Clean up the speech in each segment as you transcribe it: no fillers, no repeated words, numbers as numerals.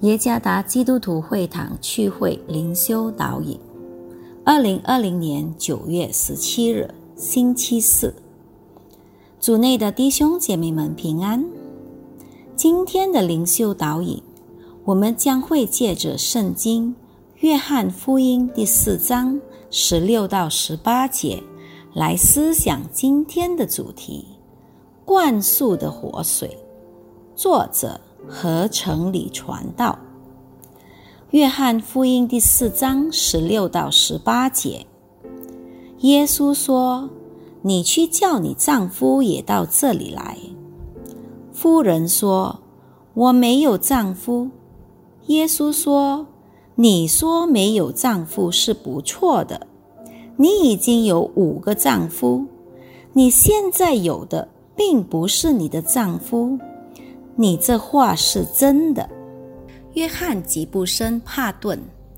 耶加达基督徒会堂聚会灵修导引，2020年9月17日，星期四。主内的弟兄姐妹们平安。今天的灵修导引，我们将会借着圣经约翰福音第4章16到18节来思想今天的主题：灌输的活水。作者何成礼传道。约翰福音第4章16到18节，耶稣说：你去叫你丈夫也到这里来。妇人说：我没有丈夫。耶稣说：你说没有丈夫是不错的，你已经有5个丈夫，你现在有的并不是你的丈夫，你这话是真的。约翰吉布森帕顿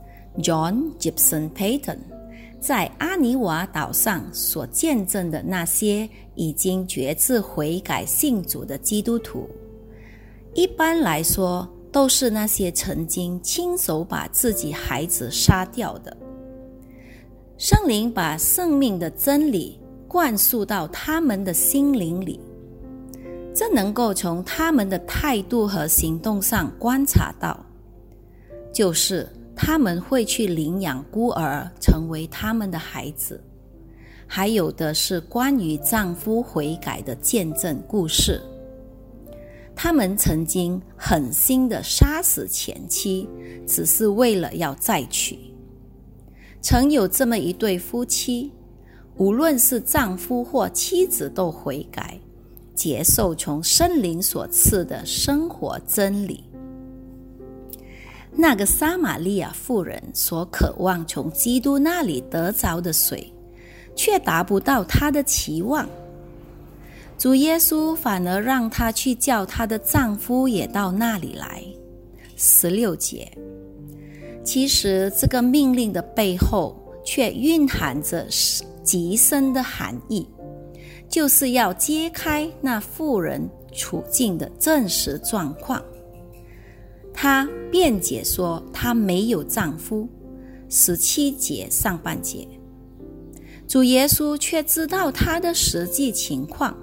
John Gibson Paton 在阿尼瓦岛上所见证的那些已经决志悔改信主的基督徒，一般来说都是那些曾经亲手把自己孩子杀掉的。圣灵把生命的真理灌输到他们的心灵里，这能够从他们的态度和行动上观察到，就是他们会去领养孤儿成为他们的孩子，还有的是关于丈夫悔改的见证故事。他们曾经狠心地杀死前妻，只是为了要再娶。曾有这么一对夫妻，无论是丈夫或妻子都悔改，接受从圣灵所赐的生活真理。那个撒玛利亚妇人所渴望从基督那里得着的水，却达不到她的期望。主耶稣反而让她去叫她的丈夫也到那里来。16节。其实这个命令的背后却蕴含着极深的含义，就是要揭开那妇人处境的真实状况。她辩解说她没有丈夫，17节上半节。主耶稣却知道她的实际情况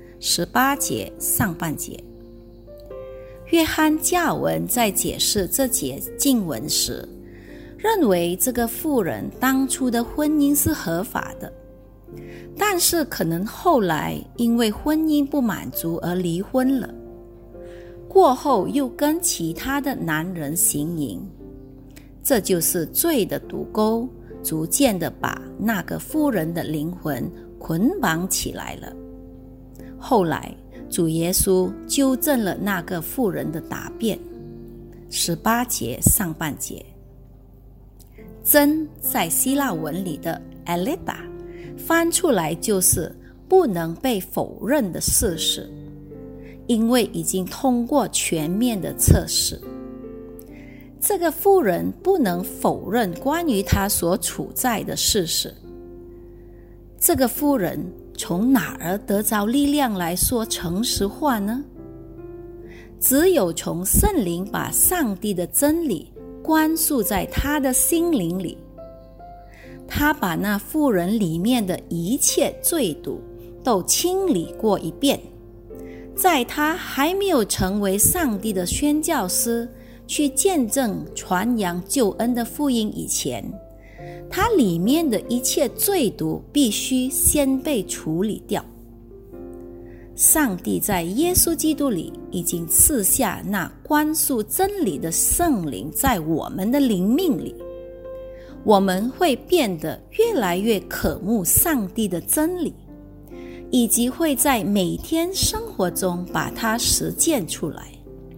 ，18节上半节。约翰加尔文在解释这节经文时，认为这个妇人当初的婚姻是合法的，但是可能后来因为婚姻不满足而离婚了，过后又跟其他的男人行淫，这就是罪的毒钩，逐渐地把那个妇人的灵魂捆绑起来了。后来主耶稣纠正了那个妇人的答辩，18节上半节。真在希腊文里的 aleta 翻出来就是不能被否认的事实，因为已经通过全面的测试。这个妇人不能否认关于她所处在的事实。这个妇人从哪儿得着力量来说诚实话呢？只有从圣灵把上帝的真理灌输在她的心灵里。他把那妇人里面的一切罪毒都清理过一遍，在他还没有成为上帝的宣教师，去见证传扬救恩的福音以前，他里面的一切罪毒必须先被处理掉。上帝在耶稣基督里已经赐下那灌输真理的圣灵在我们的灵命里，我们会变得越来越渴慕上帝的真理，以及会在每天生活中把它实践出来。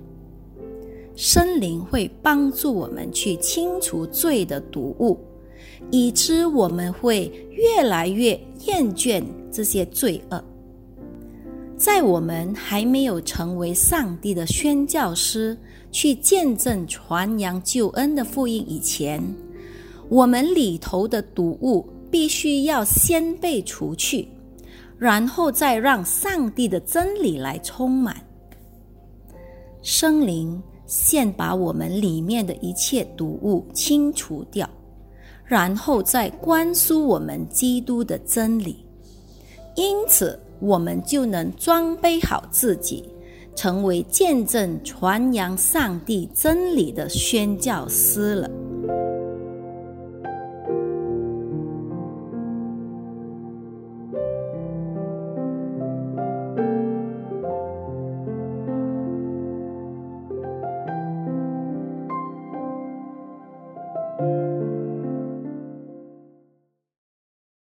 圣灵会帮助我们去清除罪的毒物，以致我们会越来越厌倦这些罪恶。在我们还没有成为上帝的宣教师，去见证传扬救恩的福音以前，我们里头的毒物必须要先被除去，然后再让上帝的真理来充满。圣灵先把我们里面的一切毒物清除掉，然后再灌输我们基督的真理。因此我们就能装备好自己，成为见证传扬上帝真理的宣教师了。